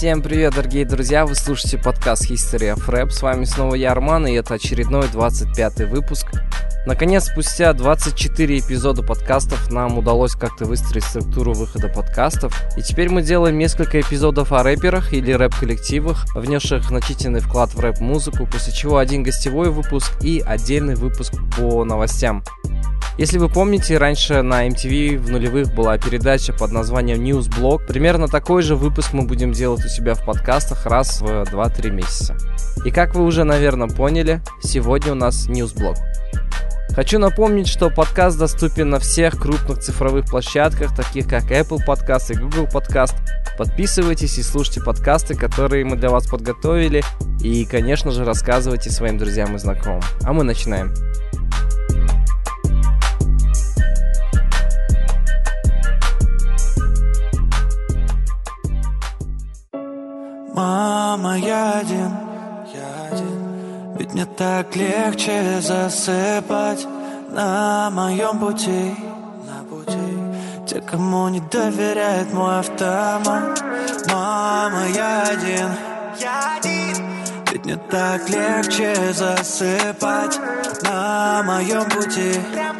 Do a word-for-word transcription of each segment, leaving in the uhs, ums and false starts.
Всем привет, дорогие друзья, вы слушаете подкаст History of Rap, с вами снова я, Арман, и это очередной двадцать пятый выпуск. Наконец, спустя двадцать четыре эпизода подкастов нам удалось как-то выстроить структуру выхода подкастов, и теперь мы делаем несколько эпизодов о рэперах или рэп-коллективах, внесших значительный вклад в рэп-музыку, после чего один гостевой выпуск и отдельный выпуск по новостям. Если вы помните, раньше на эм ти ви в нулевых была передача под названием Newsblog. Примерно такой же выпуск мы будем делать у себя в подкастах раз в два-три месяца. И как вы уже, наверное, поняли, сегодня у нас Newsblog. Хочу напомнить, что подкаст доступен на всех крупных цифровых площадках, таких как Apple Podcast и Google Podcast. Подписывайтесь и слушайте подкасты, которые мы для вас подготовили. И, конечно же, рассказывайте своим друзьям и знакомым. А мы начинаем. Мама, я один, я один. Ведь мне так легче засыпать на моем пути, на пути. Те, кому не доверяет мой автомат. Мама, я один, я один. Ведь мне так легче засыпать на моем пути,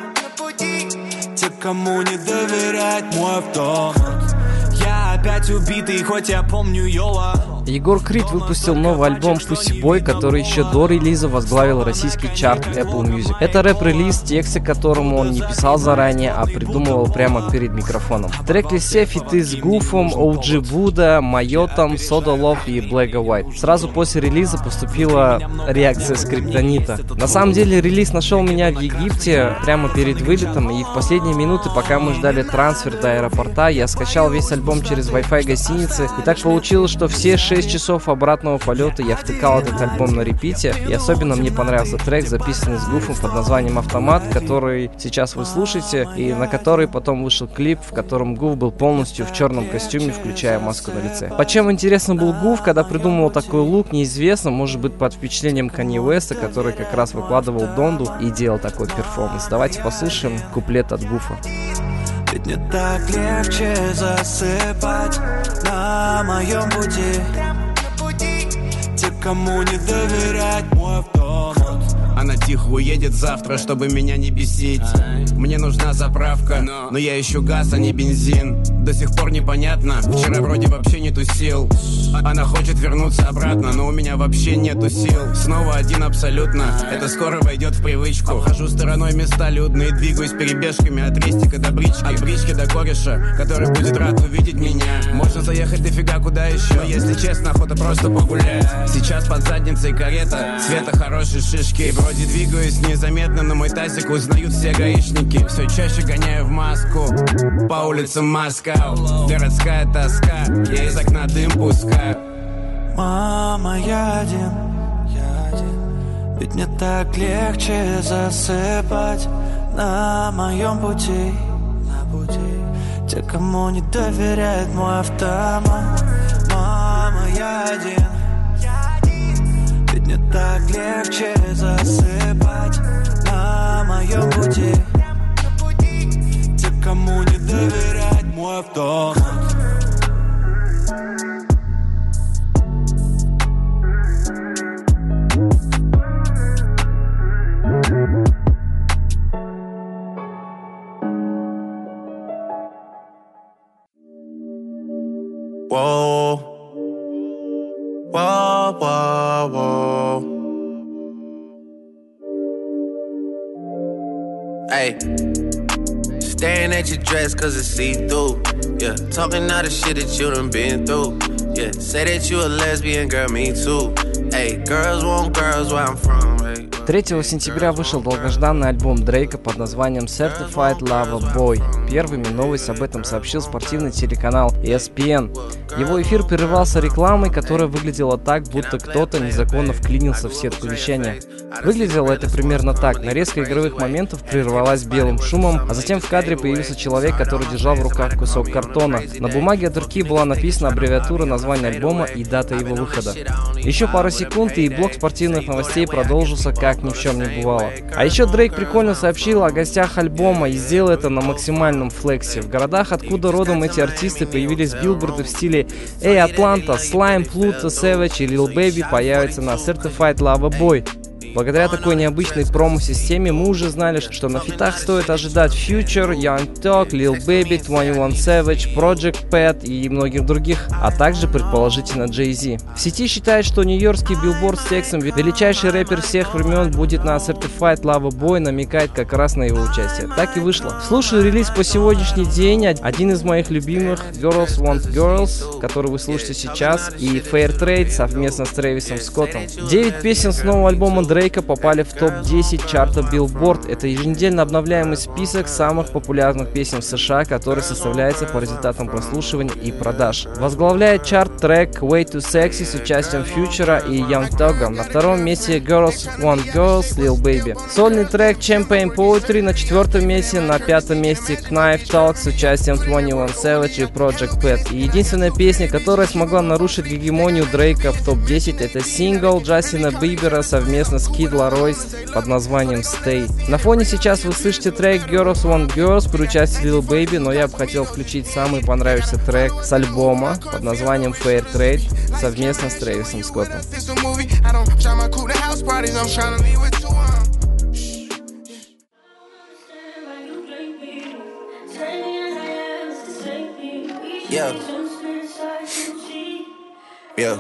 те, кому не доверяет мой автомат. Я опять убитый, хоть я помню Йола. Егор Крид выпустил новый альбом Pussy Boy, который еще до релиза возглавил российский чарт Apple Music. Это рэп-релиз, тексты к которому он не писал заранее, а придумывал прямо перед микрофоном. В трек-листе фиты с Гуфом, о джи Вуда, Майотом, Soda Love и Black and White. Сразу после релиза поступила реакция Скриптонита. На самом деле релиз нашел меня в Египте прямо перед вылетом, и в последние минуты, пока мы ждали трансфер до аэропорта, я скачал весь альбом через Wi-Fi гостиницы, и так получилось, что все шесть часов обратного полета я втыкал этот альбом на репите, и особенно мне понравился трек, записанный с Гуфом под названием «Автомат», который сейчас вы слушаете, и на который потом вышел клип, в котором Гуф был полностью в черном костюме, включая маску на лице. По чем интересно был Гуф, когда придумывал такой лук, неизвестно, может быть под впечатлением Канье Уэста, который как раз выкладывал Донду и делал такой перформанс. Давайте послушаем куплет от Гуфа. Ведь мне так легче засыпать на моем пути, те, кому не доверять мой автомат. Она тихо уедет завтра, чтобы меня не бесить. Мне нужна заправка, но я ищу газ, а не бензин. До сих пор непонятно, вчера вроде вообще нету сил. Она хочет вернуться обратно, но у меня вообще нету сил. Снова один абсолютно, это скоро войдет в привычку. Обхожу стороной места людные, двигаюсь перебежками от рестика до брички. От брички до кореша, который будет рад увидеть меня. Можно заехать дофига куда еще, но если честно, охота просто погулять. Сейчас под задницей карета, цвета хорошей шишки. Вроде двигаюсь незаметно, но мой тазик узнают все гаишники. Все чаще гоняю в маску по улицам Москва. Городская тоска, я из окна дым пускаю. Мама, я один, я один. Ведь мне так легче засыпать на моем пути, на пути. Те, кому не доверяет мой автомат. Мама, я один, ведь мне так легче засыпать на моем пути, те, кому не доверять мой автомат. Whoa, whoa, whoa, whoa. Hey, staring at your dress cause it's see-through. Yeah, talking all the shit that you done been through. Yeah, say that you a lesbian, girl, me too. Hey, girls want girls where I'm from, hey. третьего сентября вышел долгожданный альбом Дрейка под названием Certified Lover Boy. Первыми новость об этом сообщил спортивный телеканал и эс пи эн. Его эфир прерывался рекламой, которая выглядела так, будто кто-то незаконно вклинился в сетку вещания. Выглядело это примерно так. Нарезка игровых моментов прервалась белым шумом, а затем в кадре появился человек, который держал в руках кусок картона. На бумаге от руки была написана аббревиатура названия альбома и дата его выхода. Еще пару секунд, и блок спортивных новостей продолжился как как ни в чем не бывало. А еще Дрейк прикольно сообщил о гостях альбома и сделал это на максимальном флексе. В городах, откуда родом эти артисты, появились билборды в стиле «Эй, Атланта», Slime, Pluto, Savage и Lil Baby появятся на Certified Lover Boy. Благодаря такой необычной промо-системе мы уже знали, что на фитах стоит ожидать Future, Young Thug, Lil Baby, двадцать один Savage, Project Pat и многих других, а также, предположительно, Jay-Z. В сети считают, что нью-йоркский билборд с текстом «Величайший рэпер всех времен» будет на Certified Lover Boy, намекает как раз на его участие. Так и вышло. Слушаю релиз по сегодняшний день. Один из моих любимых Girls Want Girls, который вы слушаете сейчас, и Fair Trade совместно с Трэвисом Скоттом. Девять песен с нового альбома Дрейка попали в топ десять чарта Billboard. Это еженедельно обновляемый список самых популярных песен в США, который составляется по результатам прослушивания и продаж. Возглавляет чарт трек Way Too Sexy с участием Future и Young Thug. На втором месте Girls Want Girls, Lil Baby. Сольный трек Champagne Poetry на четвертом месте. На пятом месте Knife Talk с участием двадцать один Savage и Project Pat. И единственная песня, которая смогла нарушить гегемонию Дрейка в топ десять, это сингл Джастина Бибера совместно с Kid Laroi под названием Stay. На фоне сейчас вы слышите трек Girls Want Girls при участии Lil Baby, но я бы хотел включить самый понравившийся трек с альбома под названием Fair Trade совместно с Трэвисом Скоттом. Yeah. Yeah.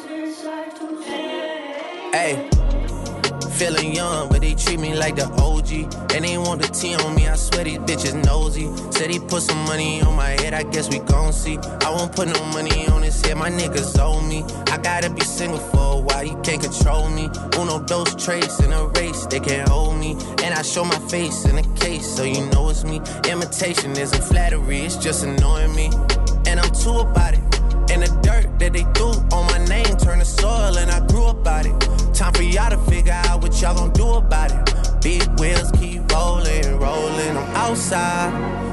Hey. Feeling young, but they treat me like the O G. And they want the T on me, I swear these bitches nosy. Said he put some money on my head, I guess we gon' see. I won't put no money on his head, my niggas owe me. I gotta be single for a while, you can't control me. Uno, those traits in a race, they can't hold me. And I show my face in a case, so you know it's me. Imitation isn't flattery, it's just annoying me. And I'm too about it. And the dirt that they threw on my name turned to soil, and I grew about it. Time for y'all to figure out what y'all gon' do about it. Big wheels keep rolling, rolling. I'm outside,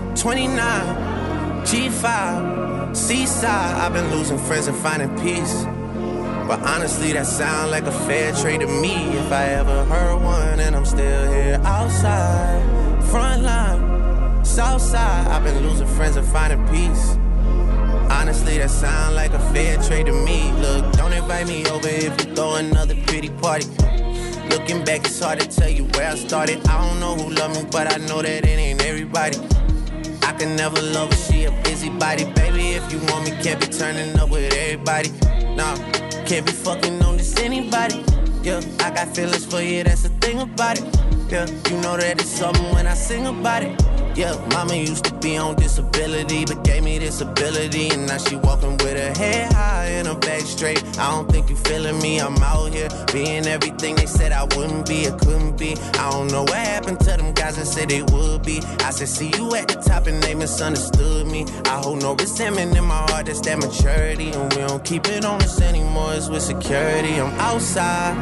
twenty-nine, G five, Seaside. I've been losing friends and finding peace. But honestly, that sound like a fair trade to me. If I ever heard one, and I'm still here outside, front line, south side. I've been losing friends and finding peace. Honestly, that sound like a fair trade to me. Look, don't invite me over if you throw another pretty party. Looking back, it's hard to tell you where I started. I don't know who loved me, but I know that it ain't everybody. I can never love her, she a busybody. Baby, if you want me, can't be turning up with everybody. Nah, can't be fucking on this anybody. Yeah, I got feelings for you, that's the thing about it. Yeah, you know that it's something when I sing about it. Yeah, mama used to be on disability, but gave me this ability. And now she walking with her head high and her back straight. I don't think you feeling me, I'm out here being everything they said I wouldn't be, or couldn't be. I don't know what happened to them guys that said they would be. I said, see you at the top and they misunderstood me. I hold no resentment in my heart, that's that maturity. And we don't keep it on us anymore, it's with security. I'm outside,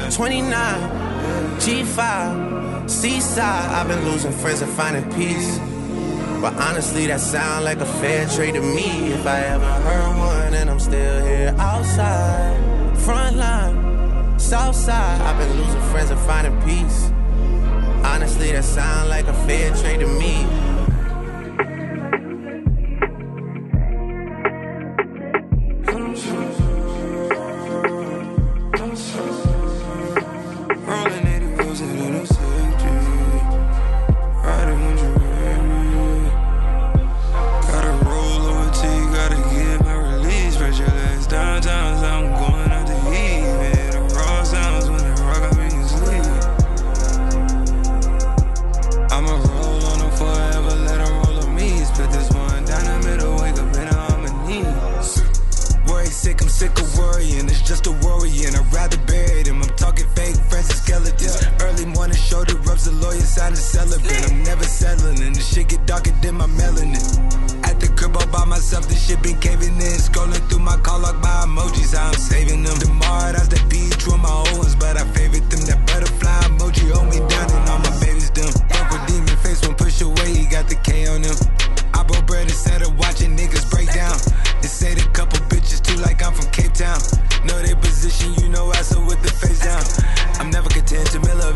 twenty-nine, G five, Seaside. I've been losing friends and finding peace. But honestly, that sound like a fair trade to me. If I ever heard one, and I'm still here outside, front line, south side. I've been losing friends and finding peace. Honestly, that sound like a fair trade to me. No, they position, you know I so with the face down. I'm never content to mill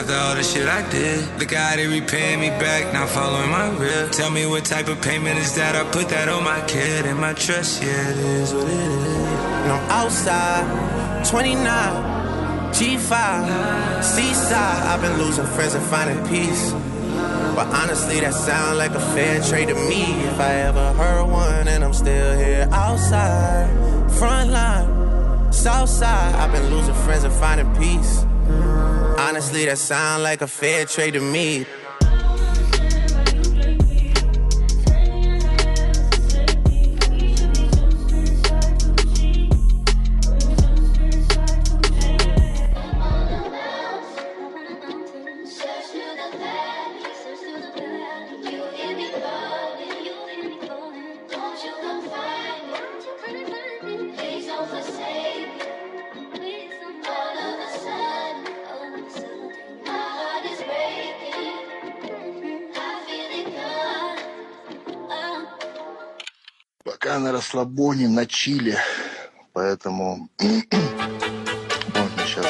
after all the shit I did. Look how they repaying me back, not following my real. Tell me what type of payment is that? I put that on my kid and my trust, yeah, it is what it is. And I'm outside, twenty-nine, G five, seaside. I've been losing friends and finding peace. But honestly, that sound like a fair trade to me. If I ever heard one, and I'm still here outside, front line, south side. I've been losing friends and finding peace. Honestly, that sound like a fair trade to me. Пока на расслабоне, на чиле, поэтому можно сейчас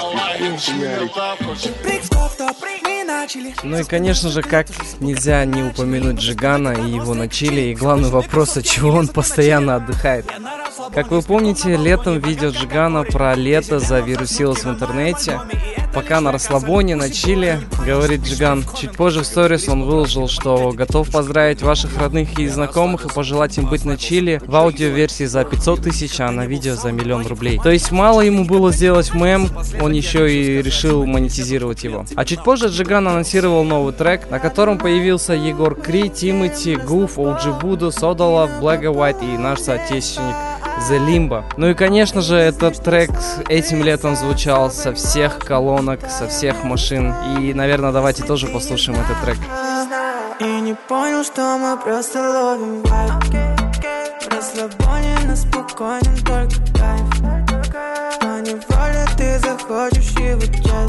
Ну и, конечно же, как нельзя не упомянуть Джигана и его на чиле, и главный вопрос, от чего он постоянно отдыхает. Как вы помните, летом видео Джигана про лето завирусилось в интернете. Пока на расслабоне, на чиле, говорит Джиган. Чуть позже в сторис он выложил, что готов поздравить ваших родных и знакомых и пожелать им быть на чиле в аудиоверсии за пятьсот тысяч, а на видео за миллион рублей. То есть мало ему было сделать мем, он еще и решил монетизировать его. А чуть позже Джиган анонсировал новый трек, на котором появился Егор Кри, Тимати, Гуф, Оуджи Буду, Содолов, Black and White и наш соотечественник The Limbo. Ну и, конечно же, этот трек этим летом звучал со всех колонок, со всех машин. И, наверное, давайте тоже послушаем этот трек. И не понял, что мы просто ловим вайб. В расслабоне на спокойном только кайф. Но неволе ты захочешь его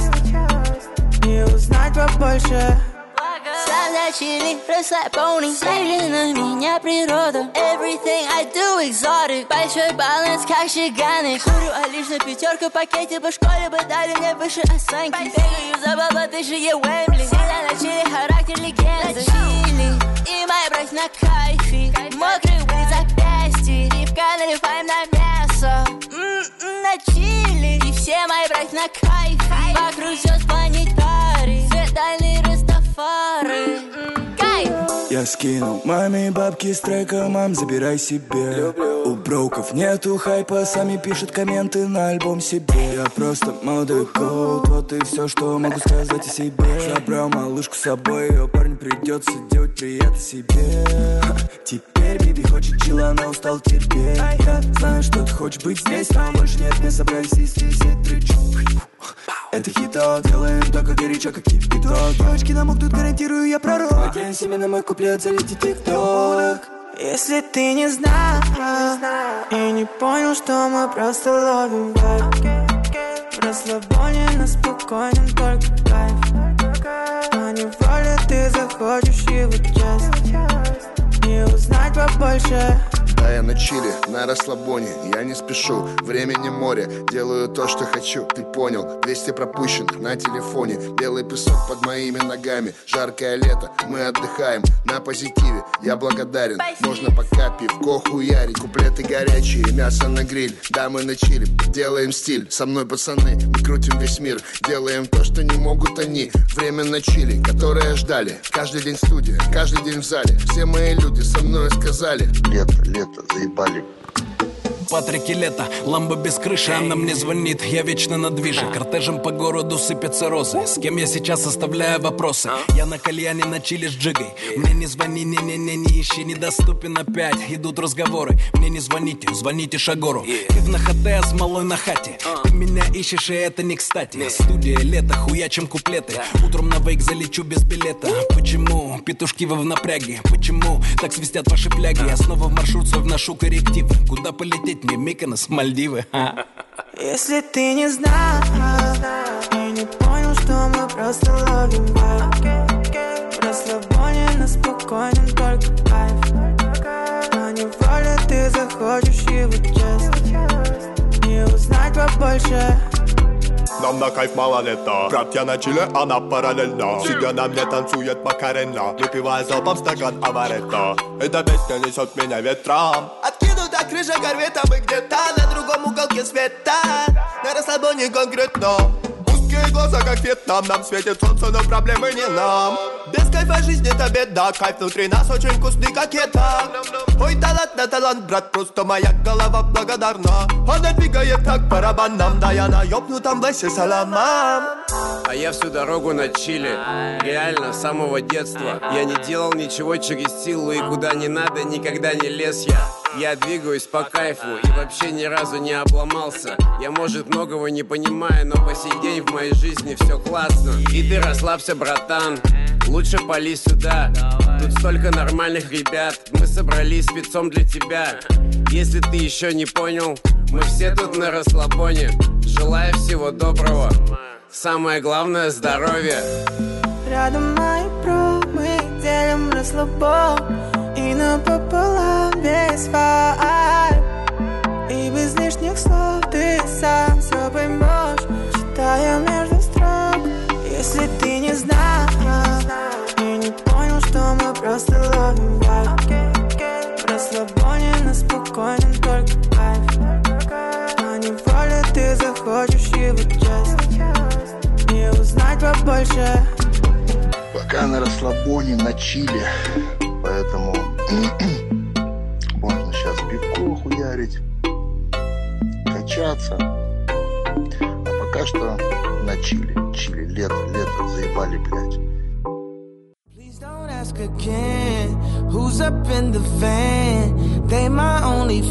часть. И узнать побольше. Сам на чили, расслабоне, смотри на меня природа. Everything I do exotic. Большой баланс, как Жиганы. Курю, а лишь на пятерку пакете. По школе бы дали мне выше оценки. Бегаю за баба, ты же е Уэмбли. Всегда на чили, характер легенды. Чили, и моя брать на кайфе. Мокрый улиц запястье. И в наливаем на мясо. М-м, на чили. И все мои брать на кайфе. Вокруг все планетарий. Светальный Растафари. Кайф. Я скинул маме бабки с трека, мам, забирай себе. У броков нету хайпа, сами пишут комменты на альбом себе. Я просто молодой коут, вот и все, что могу сказать о себе. Забрал малышку с собой, ее парню придется делать приятно себе. Теперь Биби хочет чила, она устал терпеть. Я знаю, что ты хочешь быть здесь, но больше нет, мы собрались и все тричу. Это хиток, делаем только горячо, как кипяток. Девочки намокнут, гарантирую, я пророк. Надеюсь, себе на мой куплет залетит тик-ток. Если ты не знал и не понял, что мы просто ловим вайб. В расслабоне на спокойном только кайф. Но неволе ты захочешь его часть. И узнать побольше. Да, я на чиле, на расслабоне, я не спешу, времени море, делаю то, что хочу, ты понял. Двести пропущенных на телефоне, белый песок под моими ногами. Жаркое лето, мы отдыхаем на позитиве, я благодарен. Можно пока пивко хуярить, куплеты горячие, мясо на гриль. Да, мы на чиле, делаем стиль, со мной пацаны, мы крутим весь мир. Делаем то, что не могут они. Время на чиле, которое ждали. Каждый день студия, каждый день в зале. Все мои люди со мной сказали: лето, лето, заебали. Патрики лето, ламбо без крыши, она мне звонит, я вечно на движе. Кортежем по городу сыпятся розы, с кем я сейчас оставляю вопросы. Я на кальяне на чили с джигой, мне не звони, не-не-не, не ищи, недоступен опять. Идут разговоры, мне не звоните, звоните Шагору. Ты в нахате, а с малой на хате. Ты меня ищешь, и это не кстати. Студия лето, хуячим куплеты. Утром на вейк залечу без билета. Почему? Петушки вы в напряге. Почему? Так свистят ваши фляги. Я снова в маршрут свой вношу коррективы. Куда полететь мне? Миконос, Мальдивы. Если ты не знал и не понял, что мы просто ловим вайб. В расслабоне на спокойном только кайф. Но неволе ты захочешь его часть. И узнать побольше. На там на кайф мало лета. Братья на чиле, она параллельно. Сидя на мне танцует Макарена, выпивая залпом стакан аваретто. Эта песня несет меня ветром. Откинута крыша корвета, мы где-то на другом уголке света. На расслабоне конкретно. Узкие глаза, как Вьетнам. Нам светит солнце, но проблемы не нам. Без кайфа жизнь это беда. Кайф внутри нас очень вкусный, как это. Ой, талант на талант, брат, просто моя голова благодарна. Она двигает как барабаном. Да я на ёбнутом басе саламам. А я всю дорогу на чили. Реально, с самого детства. Я не делал ничего через силу. И куда не надо, никогда не лез я. Я двигаюсь по кайфу и вообще ни разу не обломался. Я, может, многого не понимаю, но по сей день в моей жизни все классно. И ты расслабься, братан, лучше пали сюда. Тут столько нормальных ребят, мы собрались спецом для тебя. Если ты еще не понял, мы все тут на расслабоне. Желаю всего доброго, самое главное — здоровье. Рядом мои про, мы делим расслабон. И напополам весь вайб. И без лишних слов ты сам все поймешь, читая между строк. Если ты не знал и не понял, что мы просто ловим вайб. В расслабоне на спокойном только кайф. А неволе ты захочешь его часть и узнать побольше. Пока на расслабоне, на чиле. Поэтому можно сейчас пивко хуярить, качаться. А пока что на чили. Чили, лето, лето, заебали, блядь. Please don't ask again, who's up in the van? They my only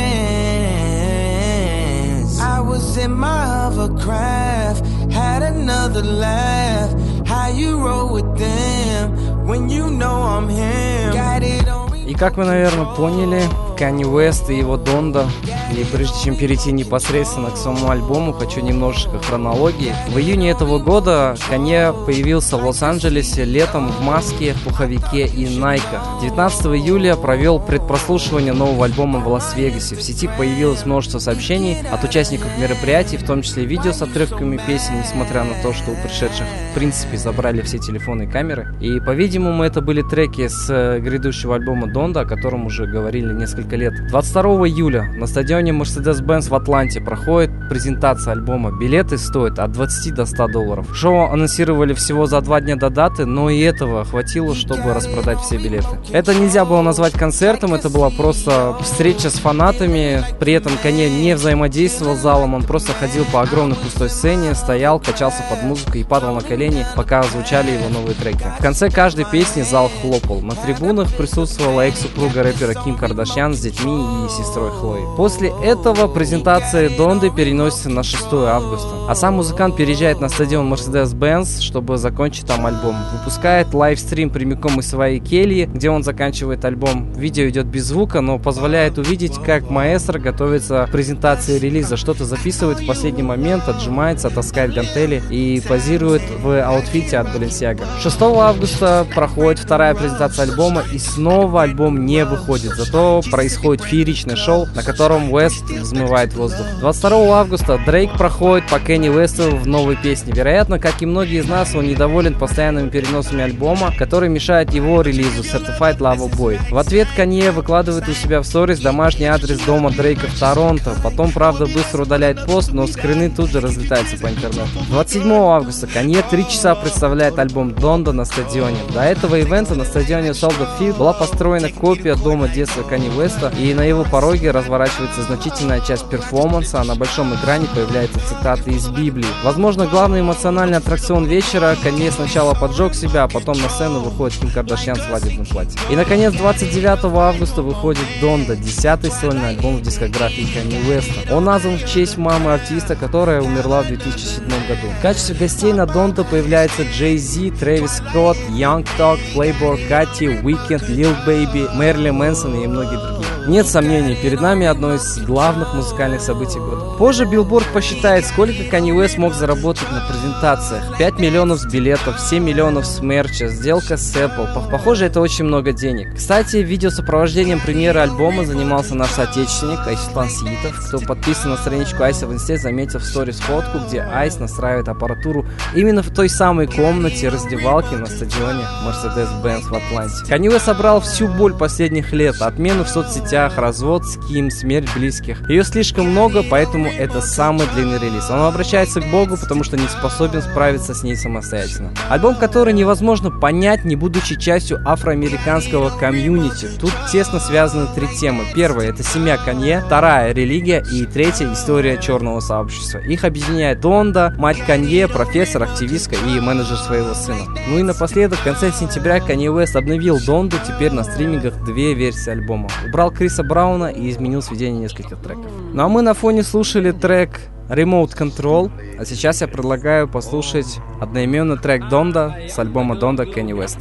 fans. I was in my hovercraft, had another laugh. How you roll with them when you know I'm him? Got it on. И как вы, наверное, поняли, Канье Уэст и его Донда. И прежде чем перейти непосредственно к самому альбому, хочу немножечко хронологии. В июне этого года Канье появился в Лос-Анджелесе летом в маске, пуховике и найках. девятнадцатого июля провел предпрослушивание нового альбома в Лас-Вегасе. В сети появилось множество сообщений от участников мероприятий, в том числе видео с отрывками песен, несмотря на то, что у пришедших в принципе забрали все телефоны и камеры. И, по-видимому, это были треки с грядущего альбома Донда, о котором уже говорили несколько лет. двадцать второго июля на стадионе Mercedes-Benz в Атланте проходит презентация альбома. Билеты стоят от двадцати до ста долларов. Шоу анонсировали всего за два дня до даты, но и этого хватило, чтобы распродать все билеты. Это нельзя было назвать концертом, это была просто встреча с фанатами. При этом Канье не взаимодействовал с залом, он просто ходил по огромной пустой сцене, стоял, качался под музыку и падал на колени, пока звучали его новые треки. В конце каждой песни зал хлопал. На трибунах присутствовала экс-супруга рэпера Ким Кардашьян с детьми и сестрой Хлоей. После этого презентация Донды переносится на шестое августа, а сам музыкант переезжает на стадион Mercedes-Benz, чтобы закончить там альбом. Выпускает лайвстрим прямиком из своей кельи, где он заканчивает альбом. Видео идет без звука, но позволяет увидеть, как маэстро готовится к презентации релиза, что-то записывает в последний момент, отжимается, таскает гантели и позирует в аутфите от Balenciaga. шестого августа проходит вторая презентация альбома, и снова альбом не выходит, зато происходит фееричное шоу, на котором Уэст взмывает воздух. двадцать второго августа Дрейк проходит по Кенни Уэсту в новой песне. Вероятно, как и многие из нас, он недоволен постоянными переносами альбома, которые мешают его релизу Certified Lover Boy. В ответ Канье выкладывает у себя в сторис домашний адрес дома Дрейка в Торонто. Потом, правда, быстро удаляет пост, но скрины тут же разлетаются по интернету. двадцать седьмого августа Канье три часа представляет альбом Донда на стадионе. До этого ивента на стадионе Soldier Field была построена копия дома детства Канье Уэста, и на его пороге разворачивается значительная часть перформанса, а на большом экране появляются цитаты из Библии. Возможно, главный эмоциональный аттракцион вечера. Канье сначала поджег себя, а потом на сцену выходит Ким Кардашьян в свадебном платье. И, наконец, двадцать девятого августа выходит Донда, десятый сольный альбом в дискографии Канье Уэста. Он назван в честь мамы артиста, которая умерла в две тысячи седьмом году. В качестве гостей на Донда появляются Джей Зи, Трэвис Скотт, Young Thug, Playboi Carti, Weeknd, Lil Baby, Мэрилин Мэнсон и многие другие. Нет сомнений, перед нами одно из главных музыкальных событий года. Позже Billboard посчитает, сколько Kanye West мог заработать на презентациях. пять миллионов с билетов, семь миллионов с мерча, сделка с Apple. Похоже, это очень много денег. Кстати, видеосопровождением премьеры альбома занимался наш соотечественник Айслан Сиитов. Кто подписан на страничку Айса в инсте, заметил в сторис фотку, где Айс настраивает аппаратуру именно в той самой комнате раздевалки на стадионе Mercedes-Benz в Атланте. Kanye West собрал всю боль последних лет, отмену в соцсетях, развод с Ким, смерть близких. Ее слишком много, поэтому это самый длинный релиз. Он обращается к Богу, потому что не способен справиться с ней самостоятельно. Альбом, который невозможно понять, не будучи частью афроамериканского комьюнити. Тут тесно связаны три темы. Первая — это семья Канье, вторая — религия, и третья — история черного сообщества. Их объединяет Донда, мать Канье, профессор, активистка и менеджер своего сына. Ну и напоследок, в конце сентября Kanye West обновил Донду, теперь на стримингах две версии альбома. Убрал Криса Брауна и изменил сведение нескольких треков. Ну а мы на фоне слушали трек Remote Control, а сейчас я предлагаю послушать одноименный трек Донда с альбома Донда Kanye West.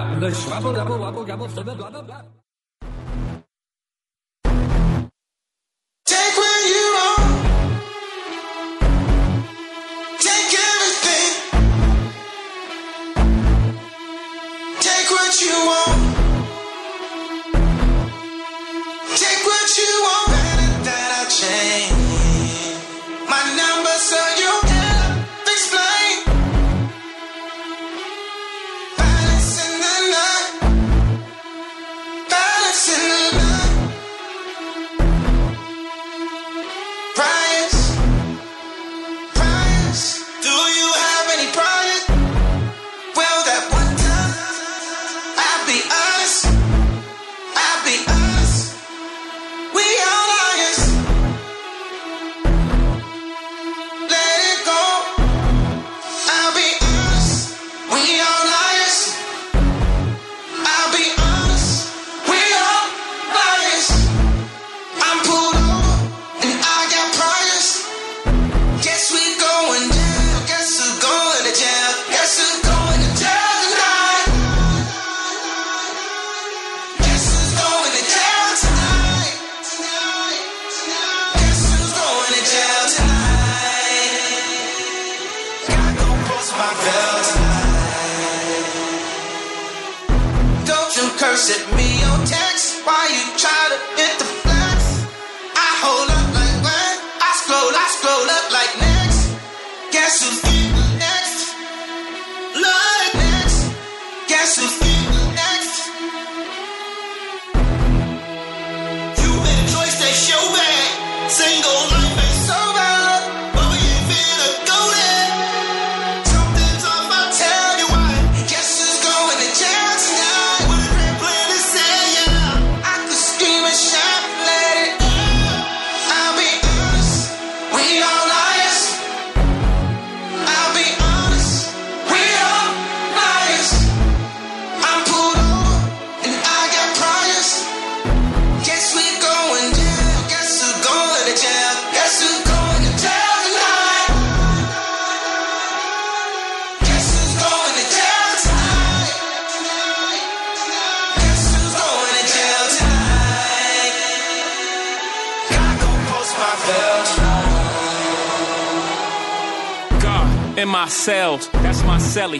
In my cells, that's my celly.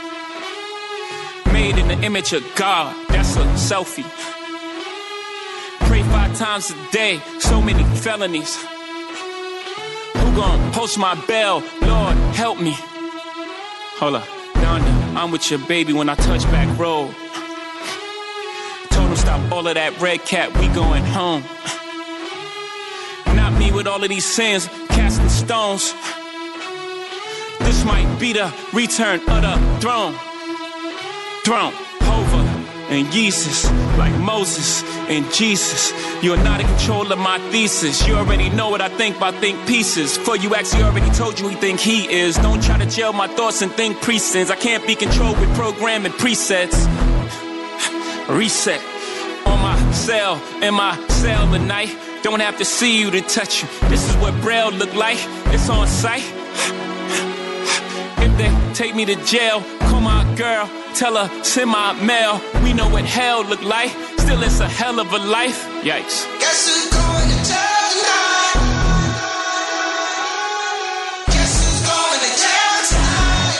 Made in the image of God, that's a selfie. Pray five times a day, so many felonies. Who gon' post my bail? Lord, help me. Hold up, Donda, I'm with your baby when I touch back road. Told him stop all of that red cat, we going home. Not me with all of these sins, casting stones. This might be the return of the throne. Throne, Hova, and Jesus, like Moses and Jesus. You're not in control of my thesis. You already know what I think by think pieces. For you actually already told you he think he is. Don't try to jail my thoughts and think presents. I can't be controlled with programming presets. Reset on my cell, in my cell tonight. Don't have to see you to touch you. This is what Braille look like. It's on sight. If they take me to jail, call my girl, tell her, send my mail. We know what hell look like, still it's a hell of a life. Yikes. Guess who's going to jail tonight? Guess who's going to jail tonight?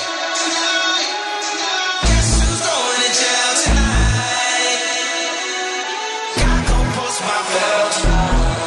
Guess who's going to jail tonight? Gotta go post my bail tonight.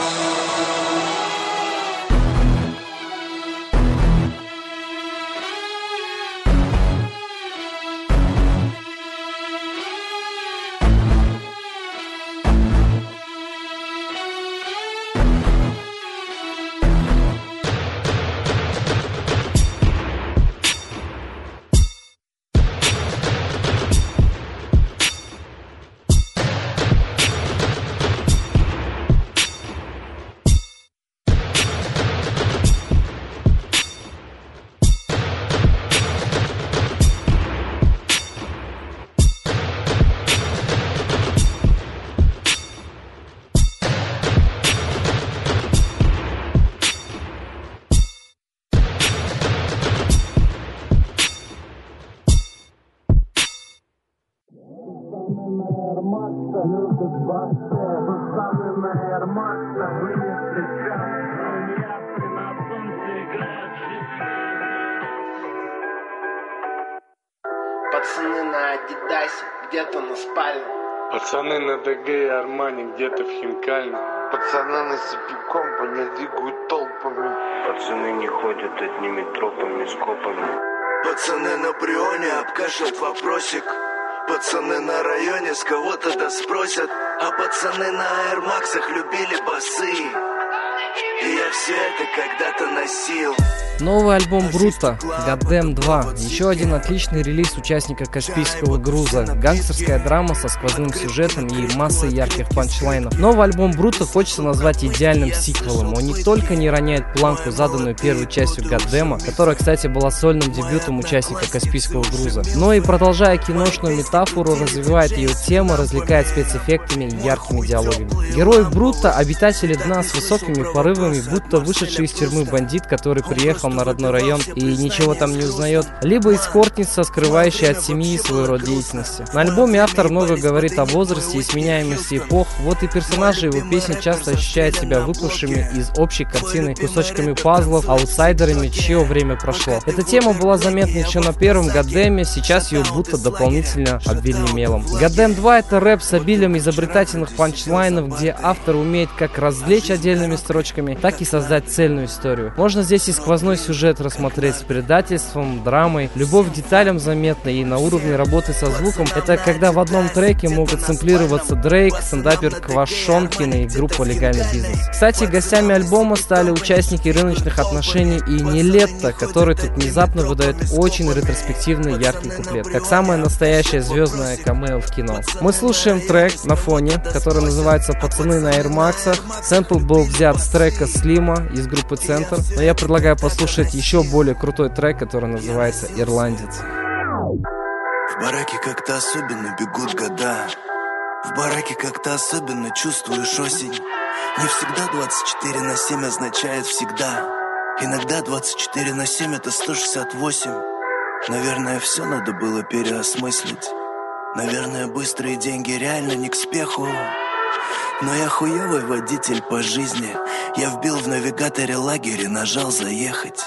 Пацаны на Адидасе, где-то на спальне. Пацаны на ДГ и Армани, где-то в Хинкальне. Пацаны на Сипиком, не двигают толпами. Пацаны не ходят одними тропами, скопами. Пацаны на Брионе обкашляют вопросик. Пацаны на районе с кого-то да спросят. А пацаны на аэрмаксах любили басы. И я все это когда-то носил. Новый альбом Бруто, Goddamn два. Еще один отличный релиз участника Каспийского груза. Гангстерская драма со сквозным сюжетом и массой ярких панчлайнов. Новый альбом Бруто хочется назвать идеальным сиквелом. Он не только не роняет планку, заданную первой частью Goddamn, которая, кстати, была сольным дебютом участника Каспийского груза, но и, продолжая киношную метафору, развивает ее тему, развлекает спецэффектами и яркими диалогами. Герой Бруто — обитатели дна с высокими порывами, будто вышедший из тюрьмы бандит, который приехал на родной район и ничего там не узнает, либо эскортница, скрывающая от семьи свой род деятельности. На альбоме автор много говорит о возрасте и сменяемости эпох, вот и персонажи его песен часто ощущают себя выпавшими из общей картины кусочками пазлов, аутсайдерами, чье время прошло. Эта тема была заметна еще на первом Goddamn, сейчас ее будто дополнительно обвели мелом. Goddamn два — это рэп с обилием изобретательных панчлайнов, где автор умеет как развлечь отдельными строчками, так и создать цельную историю. Можно здесь и сквозной сюжет рассмотреть с предательством, драмой, любовь к деталям заметна, и на уровне работы со звуком это когда в одном треке могут сэмплироваться Дрейк, стендапер Квашонкин и группа Легальный бизнес. Кстати, гостями альбома стали участники рыночных отношений и Нилетто, который тут внезапно выдает очень ретроспективный яркий куплет, как самая настоящая звездная камео в кино. Мы слушаем трек на фоне, который называется «Пацаны на Аэрмаксах». Сэмпл был взят с трека Слима из группы Центр, но я предлагаю послушать еще более крутой трек, который называется «Ирландец». В бараке как-то особенно бегут года. В бараке как-то особенно чувствуешь осень. Не всегда двадцать четыре на семь означает всегда. Иногда двадцать четыре на семь это сто шестьдесят восемь. Наверное, все надо было переосмыслить. Наверное, быстрые деньги реально не к спеху. Но я хуёвый водитель по жизни. Я вбил в навигаторе лагерь и нажал заехать.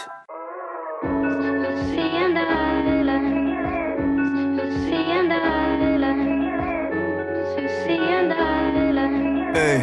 Эй,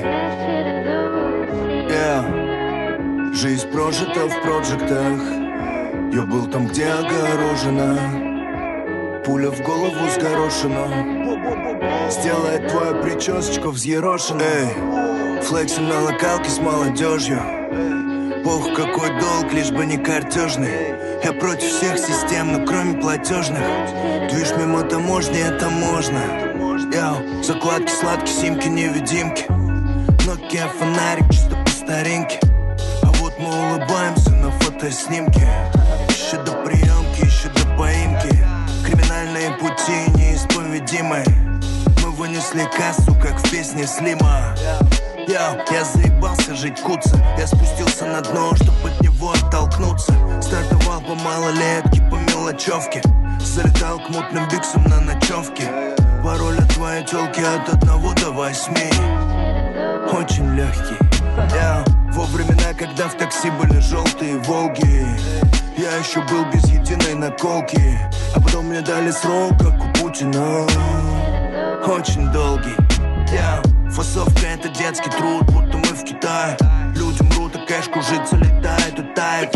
yeah. Жизнь прожита в проджектах. Я был там, где огорожено. Пуля в голову с горошину сделает твою причесочку взъерошенной. Эй, флексим на локалке с молодежью. Пох, какой долг, лишь бы не картежный. Я против всех систем, но кроме платежных. Движ мимо таможни, это можно. Яу, закладки, сладкие, симки, невидимки. Nokia фонарик, чисто по старинке. А вот мы улыбаемся на фотоснимке. Еще до приемки, еще до поимки. Криминальные пути неисповедимы. Мы вынесли кассу, как в песне Слима. Яу, я заебался жить куца. Я спустился на дно, чтоб от него оттолкнуться. Стартовал по малолетке, по мелочевке. Залетал к мутным биксам на ночевке. Пароль от твоей тёлки от одного до восьми. Очень легкий. Я во времена, когда в такси были желтые Волги, я еще был без единой наколки. А потом мне дали срок, как у Путина. Очень долгий. Я фасовка — это детский труд, будто мы в Китае. Люди мрут, а кэш кружится, летает, утает.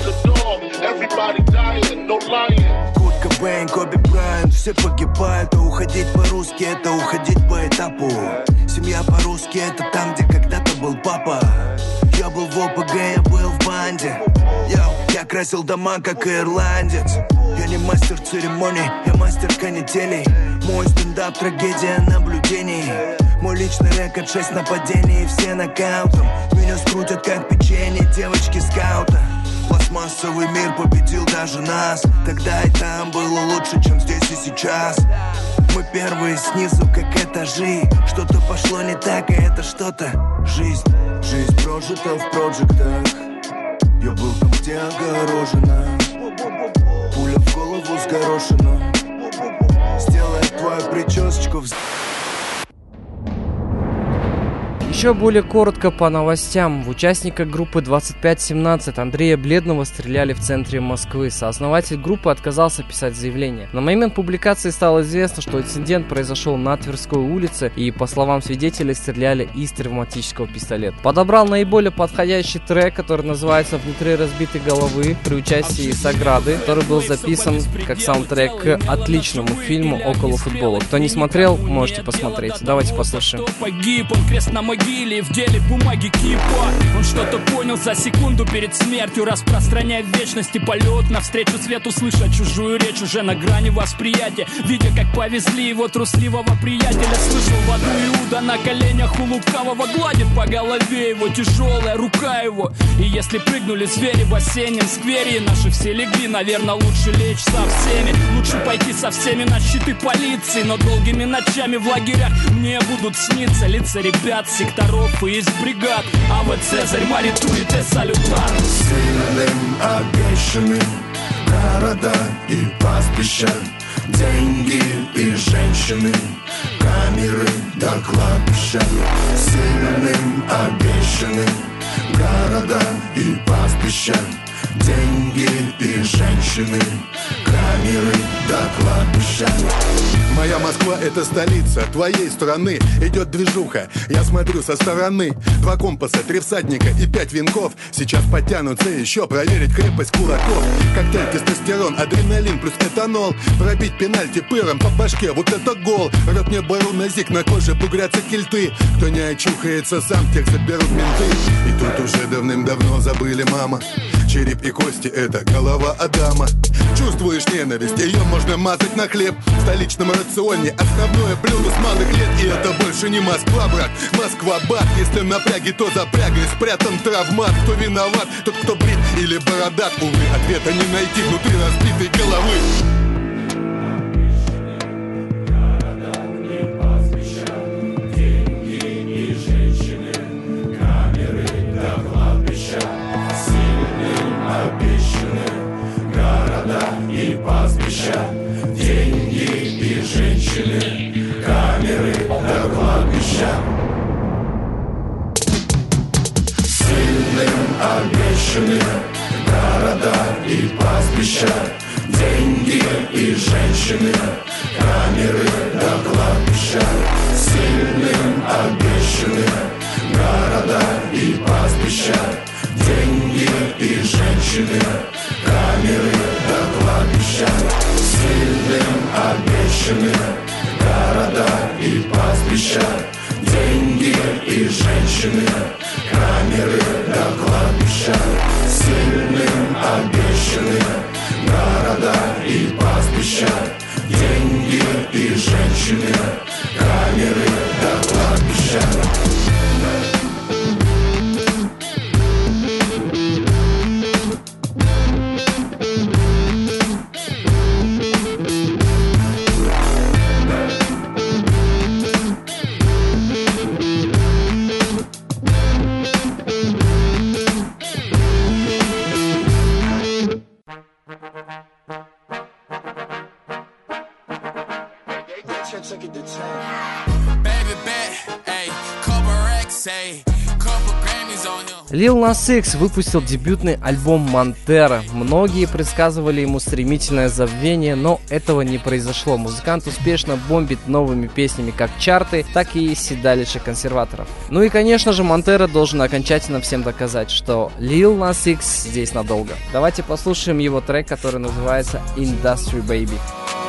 Курт Кобейн, Коби Брайант, все погибают. А уходить по-русски — это уходить по этапу. Семья по-русски — это там, где когда-то был папа. Я был в ОПГ, я был в банде. Йоу, я красил дома, как ирландец. Я не мастер церемоний, я мастер канителей. Мой стендап — трагедия наблюдений. Мой личный рекорд — шесть нападений, все нокаутом. Меня скрутят, как печенье девочки скаута. Пластмассовый мир победил даже нас. Тогда и там было лучше, чем здесь и сейчас. Мы первые снизу, как этажи. Что-то пошло не так, и это что-то жизнь. Жизнь прожита в проджектах. Я был там, где огорожено. Пуля в голову с горошином сделает твою причесочку в... Еще более коротко по новостям. В участника группы двадцать пять семнадцать Андрея Бледного стреляли в центре Москвы. Сооснователь группы отказался писать заявление. На момент публикации стало известно, что инцидент произошел на Тверской улице, и, по словам свидетелей, стреляли из травматического пистолета. Подобрал наиболее подходящий трек, который называется «Внутри разбитой головы», при участии Саграды, который был записан как саундтрек к отличному фильму «Около футбола». Кто не смотрел, можете посмотреть. Давайте послушаем. Погиб он, крест на могиле, в деле бумаги кипа. Он что-то понял за секунду перед смертью, распространяя в вечности полет навстречу свету, слыша чужую речь уже на грани восприятия, видя, как повезли его трусливого приятеля. Слышал в аду Иуда на коленях у лукавого, гладит по голове его тяжелая рука его. И если прыгнули звери в осеннем сквере, и наши все легли, наверное, лучше лечь со всеми. Лучше пойти со всеми на щиты полиции, но долгими ночами в лагерях мне будут сниться лица ребят, секторов и из бригад. А вот Цезарь молитует и салютар. Сильным обещаны города и пастбища, деньги и женщины, камеры до кладбища. Сильным обещаны города и пастбища, деньги и женщины, камеры до кладбища. Моя Москва — это столица твоей страны. Идет движуха, я смотрю со стороны. Два компаса, три всадника и пять венков сейчас подтянутся еще проверить крепость кулаков. Коктейль, тестостерон, адреналин плюс этанол. Пробить пенальти пыром по башке, вот это гол. Рот мне барон назик, на коже бугрятся кильты. Кто не очухается сам, тех заберут менты. И тут уже давным-давно забыли мама. Череп и кости — это голова Адама. Чувствуешь ненависть, ее можно мазать на хлеб. В столичном рационе основное блюдо с малых лет. И это больше не Москва, брат, Москва-бат. Если напряги, то запрягай, спрятан травмат. Кто виноват, тот, кто брит или бородат. Увы, ответа не найти внутри разбитой головы. И пастбища, деньги и женщины, камеры до кладбища. Сильным обещаны города и пастбища, деньги и женщины, камеры до кладбища. Сильным обещаны города и пастбища, деньги и женщины, камеры до кладбища. Сильным обещаны города и пастбища, деньги и женщины, камеры до кладбища. Сильным обещаны города и пастбища, деньги и женщины, камеры до кладбища. Lil Nas X выпустил дебютный альбом «Монтера». Многие предсказывали ему стремительное забвение, но этого не произошло. Музыкант успешно бомбит новыми песнями как чарты, так и седалище консерваторов. Ну и, конечно же, Монтера должен окончательно всем доказать, что Lil Nas X здесь надолго. Давайте послушаем его трек, который называется «Industry Baby».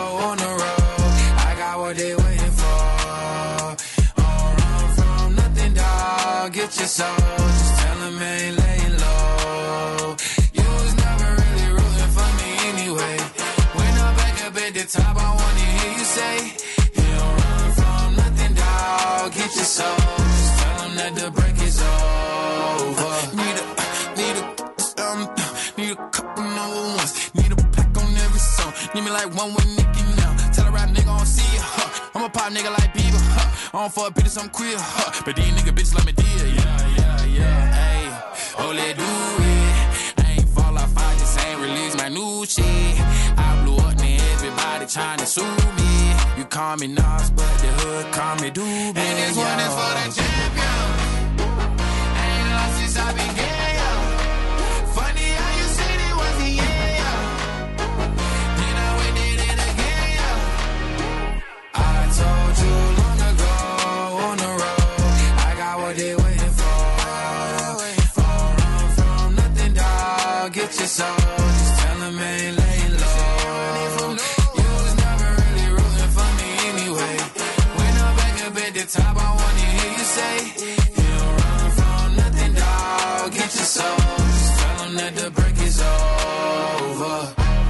Get your soul, just tell him I ain't laying low. You was never really rooting for me anyway. When I'm back up at the top, I wanna hear you say, you don't run from nothing, dawg. Get your soul, just tell him that the break is over. Need a, need a, um, need a couple number ones. Need a pack on every song. Need me like one with Nicki now. Tell a rap nigga I don't see ya, huh. I'm a pop nigga like Bieber, huh. I don't fuck bitches, I'm queer, huh. But these nigga bitches let me deal, yeah, yeah, yeah, ayy. Oh, let do it. I ain't fall off, I just ain't release my new shit. I blew up, now everybody tryna sue me. You call me Nas, but the hood call me Doobie. And this one is for the champion. I ain't lost since I began, yo. Funny how you said it was the end, yo. Then I went did it again, yo. I told you long ago on the road, I got what they waiting for. Don't run from nothing, dawg. Get your soul, just tell them I ain't laying low. You was never really rooting for me anyway. When I'm back up at the top, I wanna hear you say, you don't run from nothing, dawg. Get your soul, just tell them that the break is over.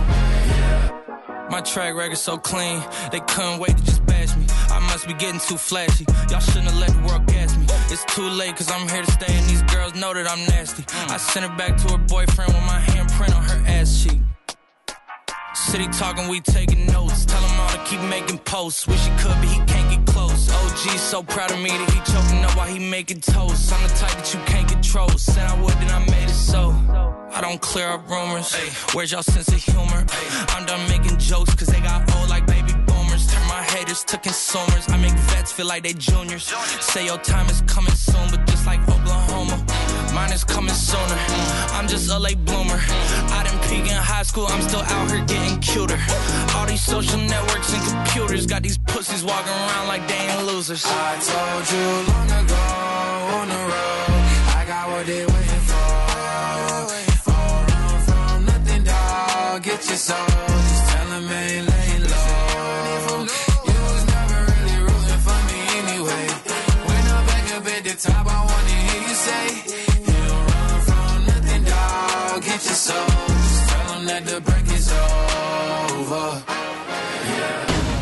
My track record so clean, they couldn't wait to just bash me. I must be getting too flashy. Y'all shouldn't have let the world gas me. It's too late cause I'm here to stay and these girls know that I'm nasty. I sent her back to her boyfriend with my handprint on her ass cheek. City talking, we taking notes. Tell him all to keep making posts. Wish he could, but he can't get close. O G's so proud of me that he choking up while he making toast. I'm the type that you can't control. Said I would, then I made it so. I don't clear up rumors. Ay, where's y'all sense of humor? Ay, I'm done making jokes cause they got old like baby boomers. Turn my haters to consumers. I make vets feel like they juniors. Say your time is coming soon, but just like Oklahoma, mine is coming sooner. I'm just a late bloomer. I didn't peak in high school, I'm still out here getting cuter. All these social networks and computers got these pussies walking around like they ain't losers. I told you long ago on the road, I got what they waiting for. Don't run from nothing, dawg. Get your soul, just tell them I ain't laying low. You was never really rooting for me anyway. When I'm back up at the top, I wanna hear you say, you don't run from nothing, dawg. Get your soul, just tell them that the break is over. Yeah.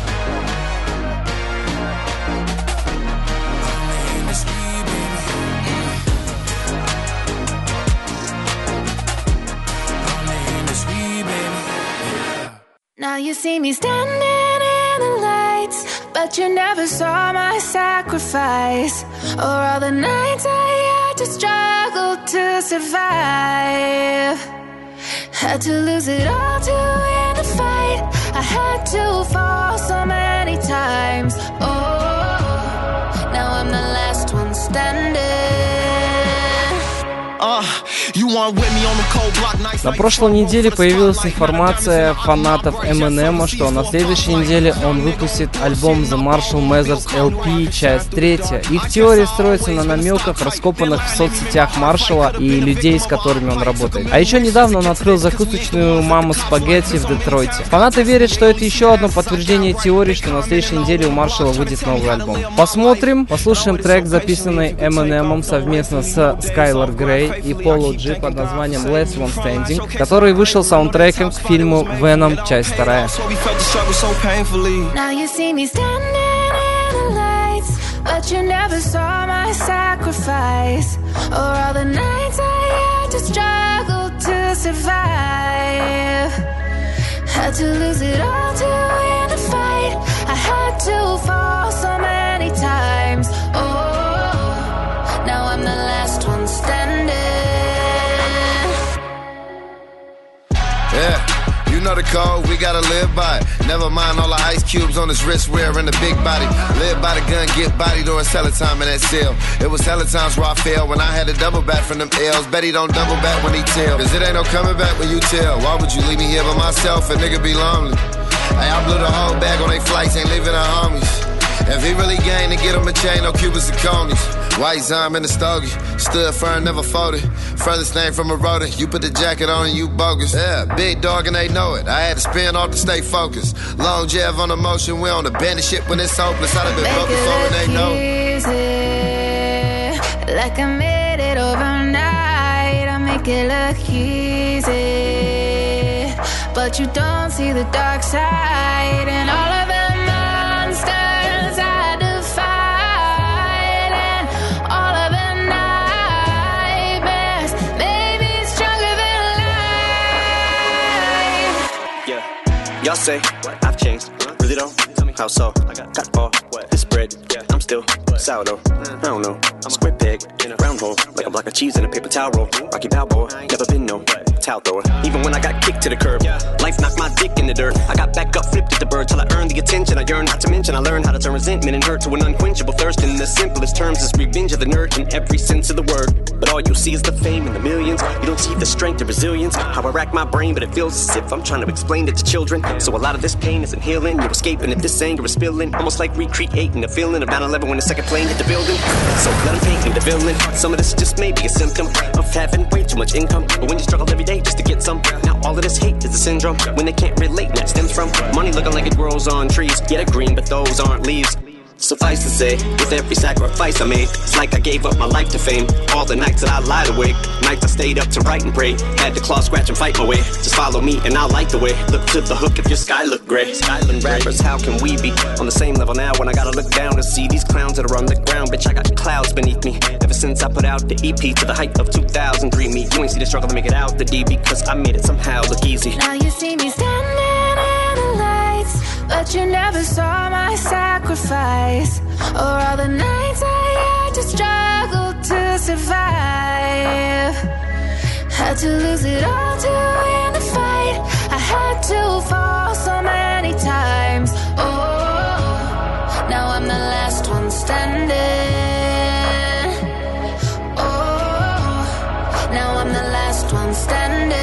Now you see me standing in the lights, but you never saw my sacrifice, or all the nights I had to struggle to survive. Had to lose it all to win the fight. I had to fall so many times. Oh, now I'm the last one standing. Uh, you want with me on the cold block nights. На прошлой неделе появилась информация фанатов Эминема, что на следующей неделе он выпустит альбом The Marshall Mathers эл пи, часть третья. Их теория строится на намеках, раскопанных в соцсетях Маршалла и людей, с которыми он работает. А еще недавно он открыл закусочную «Мама Спагетти» в Детройте. Фанаты верят, что это еще одно подтверждение теории, что на следующей неделе у Маршалла выйдет новый альбом. Посмотрим, послушаем трек, записанный Эминемом совместно с Skylar Grey и Polo G под названием Last One Standing, который вышел саундтреком к фильму Venom, часть вторая. Now you see me standing in the lights, but you never saw my sacrifice, or all the nights I had to struggle to survive. Had to lose it all to win the fight. I had to fall so many times. Oh, now I'm the last one standing. Yeah. You know the code, we gotta live by it. Never mind all the ice cubes on his wrist wearing the big body. Live by the gun, get body during cellar time in that cell. It was hella times where I failed when I had to double back from them L's. Bet he don't double back when he tell. Cause it ain't no coming back when you tell. Why would you leave me here by myself? A nigga be lonely. Hey, I blew the whole bag on they flights, ain't leaving our homies. If he really gained to get him a chain, no Cubans and conies. White Zime in the stogie, stood firm, never folded. Furthest thing from a rodent, you put the jacket on and you bogus. Yeah, big dog and they know it. I had to spin off to stay focused. Long Jeff on the motion, we on the bandit shit when it's hopeless. I'd have been broke before and they know it. Like I made it overnight, I make it look easy. But you don't see the dark side and all of the monsters I defied and all of the nightmares made me stronger than life. Yeah, y'all say I've changed, really though? How so? Got all this bread, I'm still sourdough. I don't know, square peg in a round hole, like a block of cheese in a paper towel roll. Rocky Balboa, never been no towel thrower. Even when I got kicked to the curb, life knocked my dick in the dirt. I got back up, flipped at the bird till I earned the attention I yearned. Not to mention I learned how to turn resentment and hurt to an unquenchable thirst. In the simplest terms, is revenge of the nerd in every sense of the word. But all you see is the fame and the millions. You don't see the strength and resilience. How I rack my brain, but it feels as if I'm trying to explain it to children. So a lot of this pain isn't healing. You're escaping if this anger is spilling. Almost like recreating the feeling of nine eleven when the second plane hit the building. So let them paint me the villain. Some of this just may be a symptom of having way too much income. But when you struggle every day just to get some, now all of this hate is a syndrome. When they can't relate, and that stems from money looking like it grows on trees. Yeah, they're green, but those aren't leaves. Suffice to say, with every sacrifice I made, it's like I gave up my life to fame. All the nights that I lied awake, nights I stayed up to write and pray. Had to claw, scratch, and fight my way. Just follow me and I'll light the way. Look to the hook if your sky look gray. Skyland rappers, how can we be on the same level now when I gotta look down to see these clowns that are on the ground? Bitch, I got clouds beneath me. Ever since I put out the E P to the height of two thousand three. Me, you ain't see the struggle to make it out the D because I made it somehow look easy. Now you see me standing in the lights, but you never saw my sacrifice, or all the nights I had to struggle to survive. Had to lose it all to win the fight. I had to fall so many times. Oh, now I'm the last one standing. Oh, now I'm the last one standing.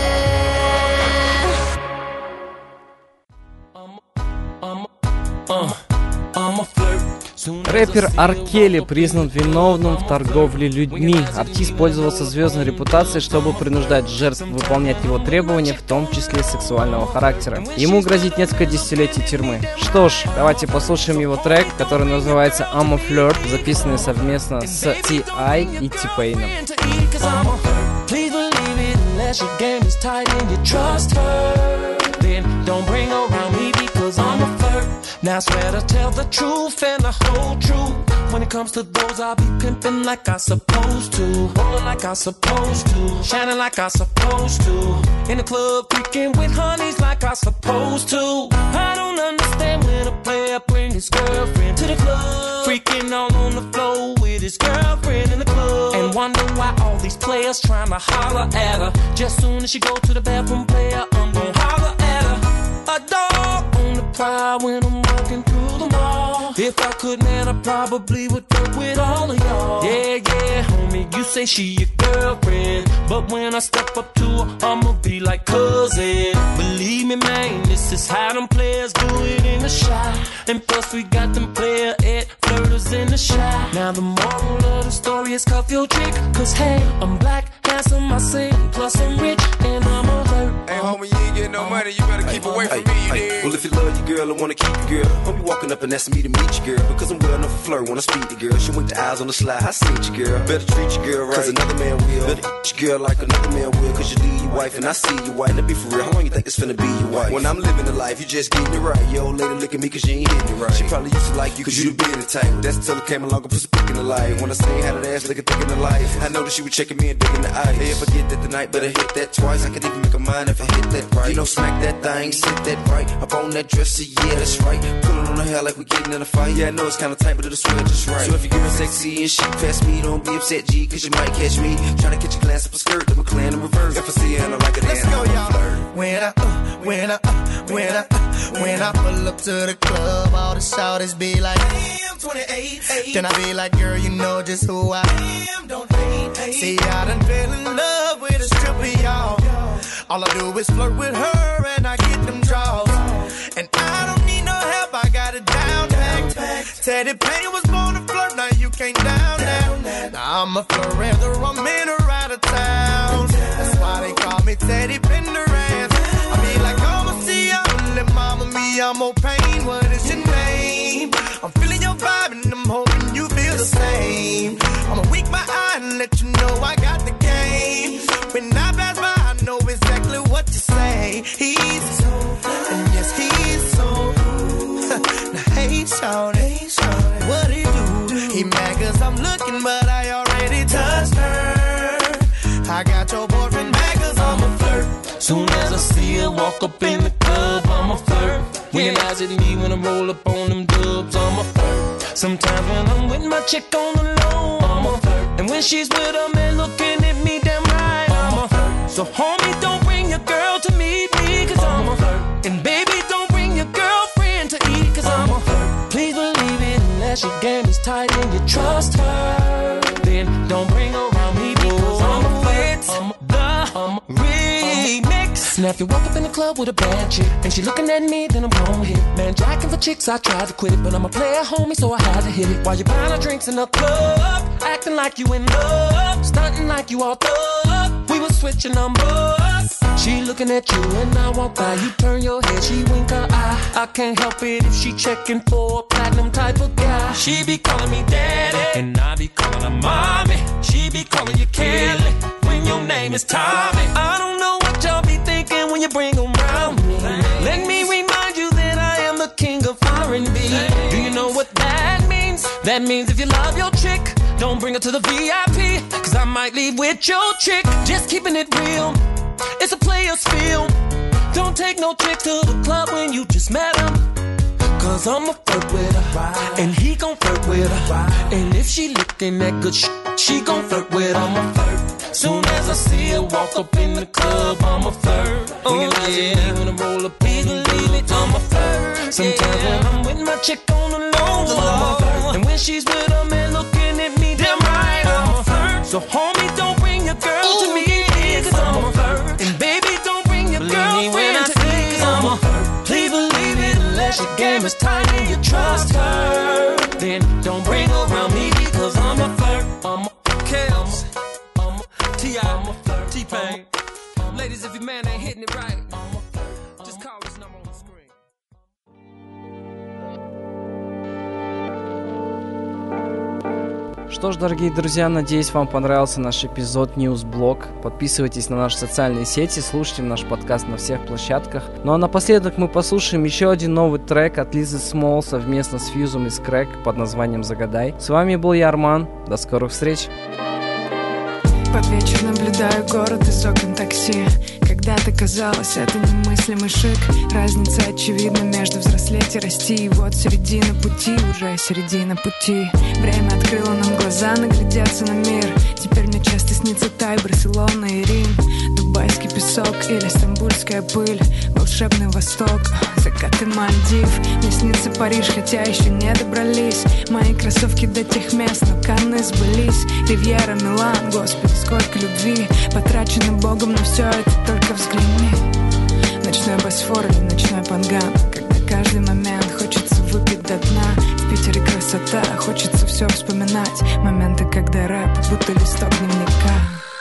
Рэпер Ар Келли признан виновным в торговле людьми. Артист пользовался звездной репутацией, чтобы принуждать жертв выполнять его требования, в том числе сексуального характера. Ему грозит несколько десятилетий тюрьмы. Что ж, давайте послушаем его трек, который называется I'm a Flirt, записанный совместно с Ти Ай и T-Pain. Now I swear to tell the truth and the whole truth. When it comes to those, I'll be pimping like I supposed to, rolling like I supposed to, shining like I supposed to, in the club freaking with honeys like I supposed to. I don't understand when a player bring his girlfriend to the club, freaking all on the floor with his girlfriend in the club, and wonder why all these players trying to holler at her. Just soon as she go to the bathroom, player, I'm gonna holler at her. A dog on the prowl when I'm walking through the mall. If I could, man, I probably would fuck with all of y'all. Yeah, yeah, homie, you say she your girlfriend, but when I step up to her, I'ma be like cousin. Believe me, man, this is how them players do it in the shot. And plus we got them player at flirters in the shot. Now the moral of the story is cuff your chick, cause hey, I'm black, handsome, I sing, plus I'm rich, and I'm a flirt. Hey, homie, you ain't getting no money, you better keep away from me, you dig? Well, if you love your girl and wanna keep your girl, don't be walking up and asking me to meet your girl, because I'm well enough to flirt when I speak to girl. She went the eyes on the slide, I seen your girl. Better treat your girl right, cause another man will. Better eat your girl like another man will, cause you leave your wife and I see your wife. Now be for real, how long you think it's finna be your wife? When I'm living the life, you just getting it right. Your old lady look at me cause you ain't hitting it right. She probably used to like you cause you the bearded type. That's until it came along and put some pick in the light. When I seen how that ass looking thick in the light, I know that she was checking me and digging the eye. Hey, if I get that tonight, better hit that twice. I could even make a mind if I hit that right. You know, smack that thing, sit that right. Up on that dresser, yeah, that's right. Pulling on her hair like we getting in a fight. Yeah, I know it's kinda tight, but it'll sweat just right. So if you're getting sexy and shit past me, don't be upset, G, cause you might catch me trying to catch a glance up a skirt, then we're clearing in reverse. If I see her and I like it, let's go, y'all. When I, uh, when I, uh, when I, uh, when I pull up to the club, all the shouters be like, damn, twenty-eight. Then I be like, girl, you know just who I am, don't hate, hate. See, I done fell in love with a stripper, y'all. All I do is flirt with her and I get them draws. And I don't need no help, I got it down packed. Teddy Payne was born to flirt, now you can't down that. Now I'm a forever, I'm in or out of town. That's why they call me Teddy Pendergrass. I mean like, I'ma see ya, let mama me, I'm more pain. What is your name? I'm feeling your vibe and I'm hoping you feel the same. I'ma wink my eye and let you know I got the game. When I pass by, I know exactly what to say. He's so, and yes, he's so. Now hey, shawty, what he do? He mad cause I'm looking, but I already touched her. I got your boyfriend mad cause I'm a flirt. Soon as I see her walk up in the club, I'm a flirt. When your eyes at me when I roll up on them dubs, I'm a flirt. Sometimes when I'm with my chick on the low, I'm a flirt. And when she's with a man looking at me damn right, I'm a flirt. So homie, don't bring your girl to meet me, cause I'm a flirt. And baby, don't bring your girlfriend to eat, cause I'm a flirt. Please believe it, unless your game is tight and you trust her, then don't bring her around me, because I'm a flirt. I'm the remix. Now if you walk up in the club with a bad chick and she looking at me, then I'm gon' hit. Man, jacking for chicks, I tried to quit it, but I'm a player, homie, so I had to hit it. While you buying her drinks in the club, acting like you in love, stunting like you all thug. We was switching numbers. She looking at you and I walk by. You turn your head, she wink her eye. I can't help it if she checking for a platinum type of guy. She be calling me daddy and I be calling her mommy. She be calling you Kelly when your name is Tommy. I don't know what y'all be thinking when you bring them round me. Let me remind you that I am the king of R and B. Do you know what that means? That means if you love your chick, don't bring her to the V I P, cause I might leave with your chick. Just keeping it real, it's a player's film. Don't take no chick to the club when you just met him, cause I'ma flirt with her, and he gon' flirt with her. And if she looking that good sh**, she gon' flirt with her. I'ma flirt. Soon as I see her walk up in the club, I'ma flirt. Oh, when you eyes yeah. at me when I roll up, please believe it, I'ma flirt. Sometimes yeah. when I'm with my chick on the low, I'ma flirt. And when she's with a man looking at me, damn right, I'ma flirt. So homie, don't bring your girl Ooh, to me, cause I'ma flirt. And baby, don't bring your girlfriend to me, cause I'ma flirt. Please believe it, unless your game is tight and you trust her, then don't bring her around me, because I'm a flirt. I'm a Kels, I'm a T I, I'm a flirt. T-Pain. Ladies, if your man ain't hitting it right, just call his number on the screen. Что ж, дорогие друзья, надеюсь, вам понравился наш эпизод Newsblog. Подписывайтесь на наши социальные сети, слушайте наш подкаст на всех площадках. Ну а напоследок мы послушаем еще один новый трек от Лизы Смол совместно с Фьюзом из Крэк под названием «Загадай». С вами был я, Арман. До скорых встреч! Под вечер наблюдаю город из окон такси. Когда-то казалось, это немыслимый шик. Разница очевидна между взрослеть и расти. И вот середина пути, уже середина пути. Время открыло нам глаза, наглядеться на мир. Теперь мне часто снится Тай, Барселона и Рим. Дубайский песок или стамбульская пыль. Волшебный Восток, закаты Мальдив. Мне снится Париж, хотя еще не добрались. Мои кроссовки до тех мест, но Канны сбылись. Ривьера, Милан, господи, сколько любви потрачено Богом, но все это только взгляни. Ночной Босфор или ночной Панган, когда каждый момент хочется выпить до дна. В Питере красота, хочется все вспоминать. Моменты, когда рэп будто листок дневника.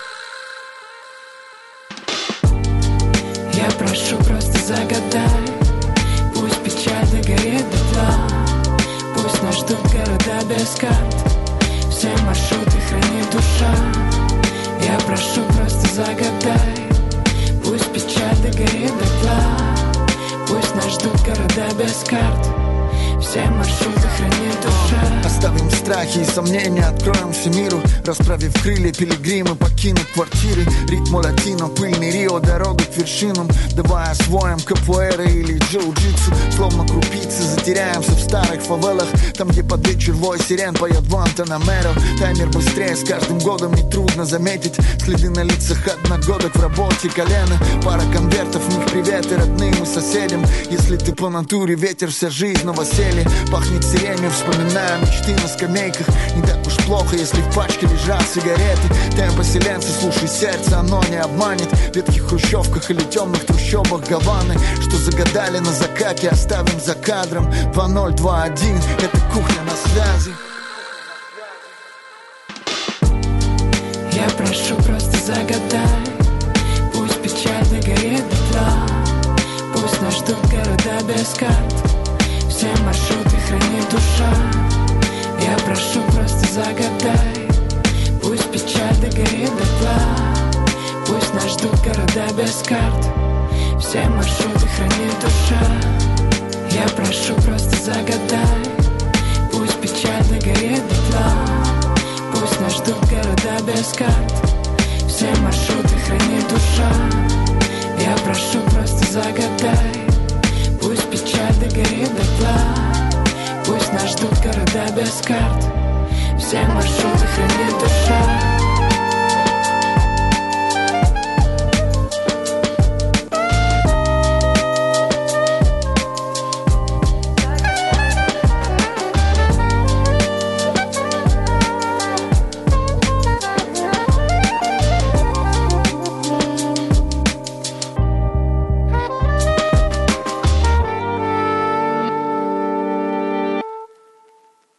Я прошу, просто загадай. Пусть печаль догорит дотла. Пусть нас ждут города без карт. Все маршруты хранит душа. Я прошу, просто загадай. Пусть печаль догорит дотла. Пусть нас ждут города без карт. Все маршруты хранит душа. Оставим страх страхи и сомнения откроемся миру. Расправив крылья, пилигримы покинут квартиры. Ритм латино, пыльный Рио, дорога к вершинам. Давай освоим капуэра или джиу-джитсу. Словно крупицы затеряемся в старых фавелах. Там, где под вечер вой сирен поет Гуантанамеро. Таймер быстрее, с каждым годом нетрудно заметить следы на лицах одногодок в работе колено. Пара конвертов, в них приветы родным и соседям. Если ты по натуре ветер, вся жизнь новоселье. Пахнет сиренью, вспоминая мечты на скамейках. Не так уж плохо, если в пачке лежат сигареты. Темп поселенца, слушай сердце, оно не обманет. В ветхих хрущевках или темных трущобах Гаваны, что загадали на закате, оставим за кадром. Два ноль два один, это кухня на связи. Я прошу, просто загадай. Пусть печаль догорит дотла. Пусть нас ждут города без карт. Все маршруты хранит душа. Я прошу, просто загадай. Пусть печаль догорит дотла. Пусть нас ждут города без карт. Все маршруты хранит душа. Я прошу, просто загадай. Пусть печаль догорит дотла. Пусть нас ждут города без карт. Все маршруты хранит душа. Я прошу, просто загадай. Пусть печаль догорит дотла. Пусть нас ждут города без карт. Все маршруты хранит душа.